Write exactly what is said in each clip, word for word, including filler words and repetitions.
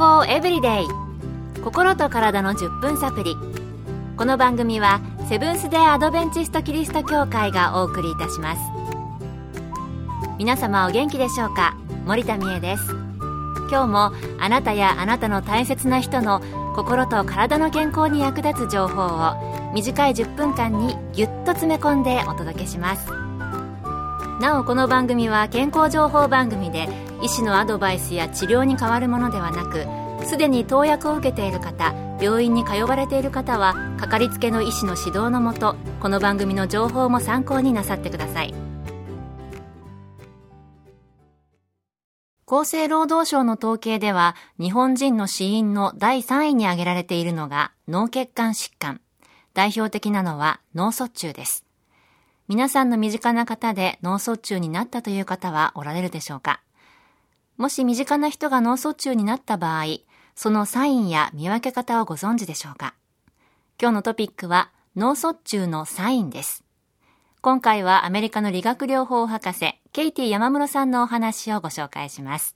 康エブリデイ、心と体のじゅっぷんサプリ。この番組はセブンス・デー・アドベンチスト・キリスト教会がお送りいたします。皆様お元気でしょうか。森田美恵です。今日もあなたやあなたの大切な人の心と体の健康に役立つ情報を短いじゅっぷんかんにぎゅっと詰め込んでお届けします。なおこの番組は健康情報番組で医師のアドバイスや治療に代わるものではなく、すでに投薬を受けている方、病院に通われている方はかかりつけの医師の指導のもと、この番組の情報も参考になさってください。厚生労働省の統計では、日本人の死因のだいさんいに挙げられているのが脳血管疾患。代表的なのは脳卒中です。皆さんの身近な方で脳卒中になったという方はおられるでしょうか。もし身近な人が脳卒中になった場合、そのサインや見分け方をご存知でしょうか。今日のトピックは脳卒中のサインです。今回はアメリカの理学療法博士ケイティ山室さんのお話をご紹介します。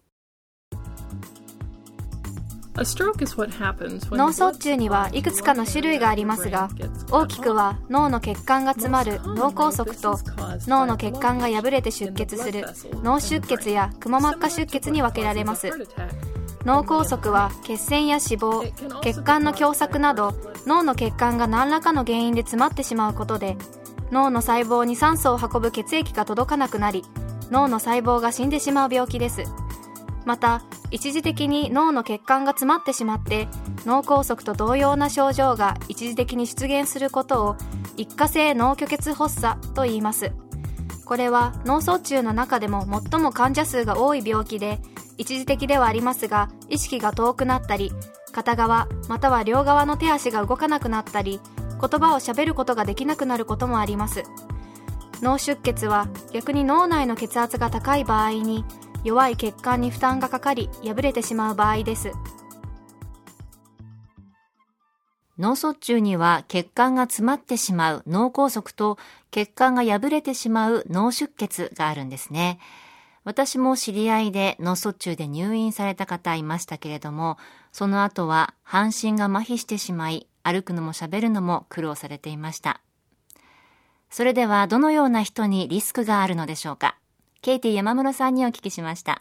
脳卒中にはいくつかの種類がありますが、大きくは脳の血管が詰まる脳梗塞と脳の血管が破れて出血する脳出血やくも膜下出血に分けられます。脳梗塞は血栓や脂肪、血管の狭窄など脳の血管が何らかの原因で詰まってしまうことで、脳の細胞に酸素を運ぶ血液が届かなくなり、脳の細胞が死んでしまう病気です。また、一時的に脳の血管が詰まってしまって脳梗塞と同様な症状が一時的に出現することを一過性脳虚血発作と言います。これは脳卒中の中でも最も患者数が多い病気で、一時的ではありますが意識が遠くなったり、片側または両側の手足が動かなくなったり、言葉をしゃべることができなくなることもあります。脳出血は逆に脳内の血圧が高い場合に弱い血管に負担がかかり破れてしまう場合です。 脳卒中には血管が詰まってしまう脳梗塞と血管が破れてしまう脳出血があるんですね。私も知り合いで脳卒中で入院された方いましたけれども、その後は半身が麻痺してしまい、歩くのも喋るのも苦労されていました。それではどのような人にリスクがあるのでしょうか。ケイティ山室さんにお聞きしました。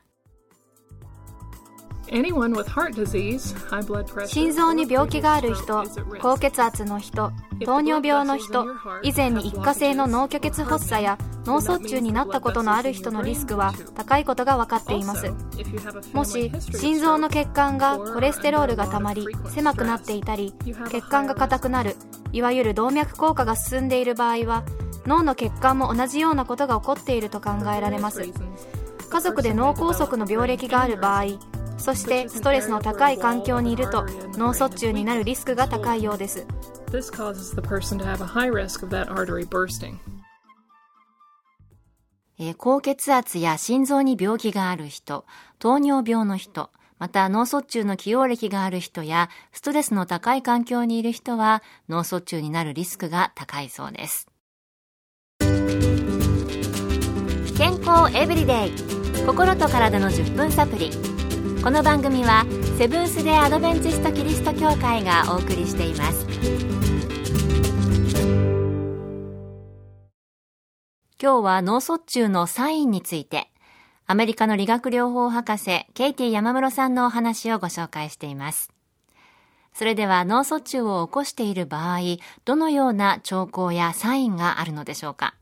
心臓に病気がある人、高血圧の人、糖尿病の人、以前に一過性の脳虚血発作や脳卒中になったことのある人のリスクは高いことが分かっています。もし心臓の血管がコレステロールがたまり狭くなっていたり、血管が硬くなる、いわゆる動脈硬化が進んでいる場合は、脳の血管も同じようなことが起こっていると考えられます。家族で脳梗塞の病歴がある場合、そしてストレスの高い環境にいると脳卒中になるリスクが高いようです。 えー、高血圧や心臓に病気がある人、糖尿病の人、また脳卒中の既往歴がある人やストレスの高い環境にいる人は脳卒中になるリスクが高いそうです。健康エブリデイ、心と体のじゅっぷんサプリ。この番組はセブンス・デー・アドベンチスト・キリスト教会がお送りしています。今日は脳卒中のサインについて、アメリカの理学療法博士ケイティ山室さんのお話をご紹介しています。それでは脳卒中を起こしている場合、どのような兆候やサインがあるのでしょうか。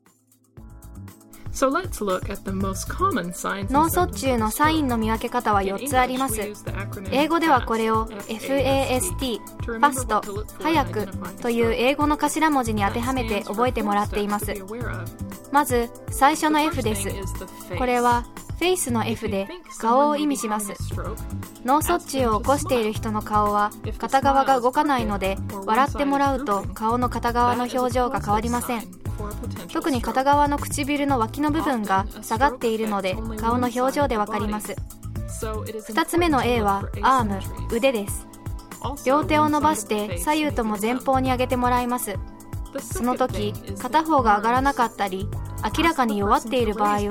脳卒中のサインの見分け方はよっつあります。英語ではこれを エフエーエスティー、ファスト、早くという英語の頭文字に当てはめて覚えてもらっています。まず最初の F です。これはフェイスの F で顔を意味します。脳卒中を起こしている人の顔は片側が動かないので、笑ってもらうと顔の片側の表情が変わりません。特に片側の唇の脇の部分が下がっているので顔の表情でわかります。ふたつめの A はアーム、腕です。両手を伸ばして左右とも前方に上げてもらいます。その時片方が上がらなかったり明らかに弱っている場合は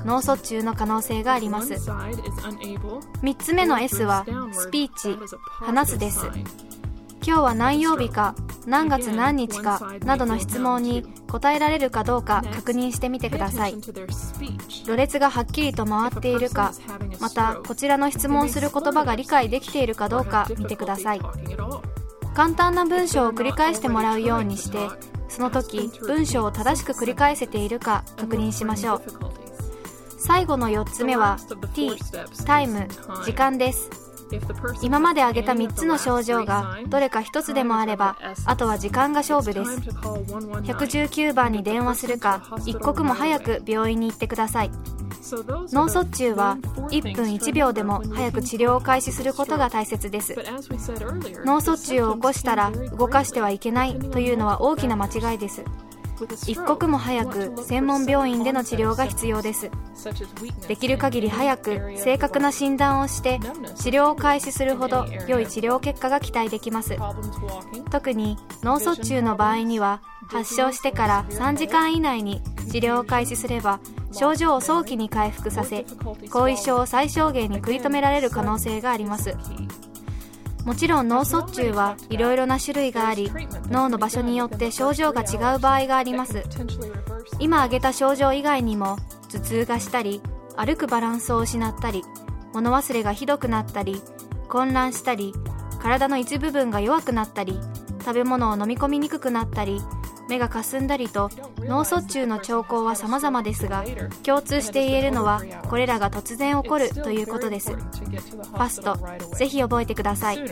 脳卒中の可能性があります。みっつめの エス はスピーチ、話すです。今日は何曜日か、何月何日かなどの質問に答えられるかどうか確認してみてください。ろれつがはっきりと回っているか、またこちらの質問する言葉が理解できているかどうか見てください。簡単な文章を繰り返してもらうようにして、その時文章を正しく繰り返せているか確認しましょう。最後のよっつめは T、タイム、時間です。今まで挙げたみっつの症状がどれかひとつでもあれば、あとは時間が勝負です。いちいちきゅうばんに電話するか、一刻も早く病院に行ってください。脳卒中はいっぷんいちびょうでも早く治療を開始することが大切です。脳卒中を起こしたら動かしてはいけないというのは大きな間違いです。一刻も早く専門病院での治療が必要です。できる限り早く正確な診断をして治療を開始するほど良い治療結果が期待できます。特に脳卒中の場合には、発症してからさんじかん以内に治療を開始すれば症状を早期に回復させ、後遺症を最小限に食い止められる可能性があります。もちろん脳卒中はいろいろな種類があり、脳の場所によって症状が違う場合があります。今挙げた症状以外にも、頭痛がしたり、歩くバランスを失ったり、物忘れがひどくなったり、混乱したり、体の一部分が弱くなったり、食べ物を飲み込みにくくなったり、目がかすんだりと、脳卒中の兆候は様々ですが、共通して言えるのはこれらが突然起こるということです。ファスト、ぜひ覚えてください。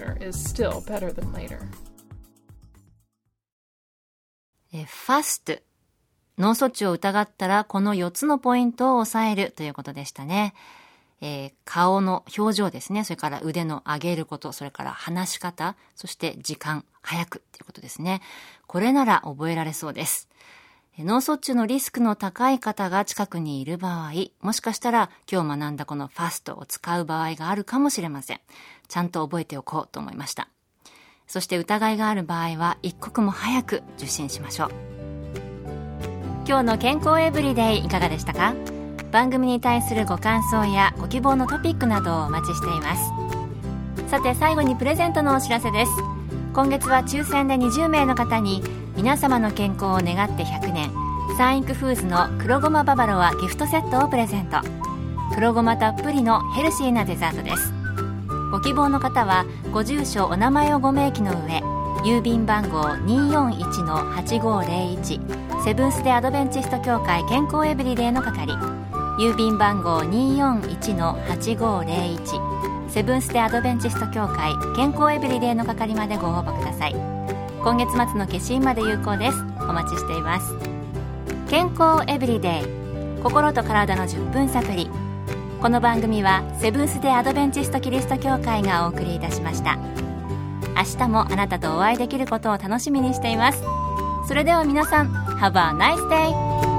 えファスト、脳卒中を疑ったらこのよっつのポイントを押さえるということでしたね。えー、顔の表情ですね。それから腕の上げること、それから話し方、そして時間、早くということですね。これなら覚えられそうです。脳卒中のリスクの高い方が近くにいる場合、もしかしたら今日学んだこのファストを使う場合があるかもしれません。ちゃんと覚えておこうと思いました。そして疑いがある場合は一刻も早く受診しましょう。今日の健康エブリデイいかがでしたか？番組に対するご感想やご希望のトピックなどをお待ちしています。さて最後にプレゼントのお知らせです。今月は抽選でにじゅうめいの方に皆様の健康を願ってひゃくねんサンインクフーズの黒ごまババロアギフトセットをプレゼント。黒ごまたっぷりのヘルシーなデザートです。ご希望の方はご住所お名前をご明記の上、郵便番号 にーよんいちのはちごーぜろいち セブンス・デ・アドベンチスト協会健康エブリデイの係、郵便番号 にーよんいちのはちごーぜろいち セブンス・デ・アドベンチスト協会健康エブリデイの係までご応募ください。今月末の消印まで有効です。お待ちしています。健康エブリデイ、心と体のじゅっぷんサプリ。この番組はセブンス・デ・アドベンチストキリスト教会がお送りいたしました。明日もあなたとお会いできることを楽しみにしています。それでは皆さん、Have a nice day!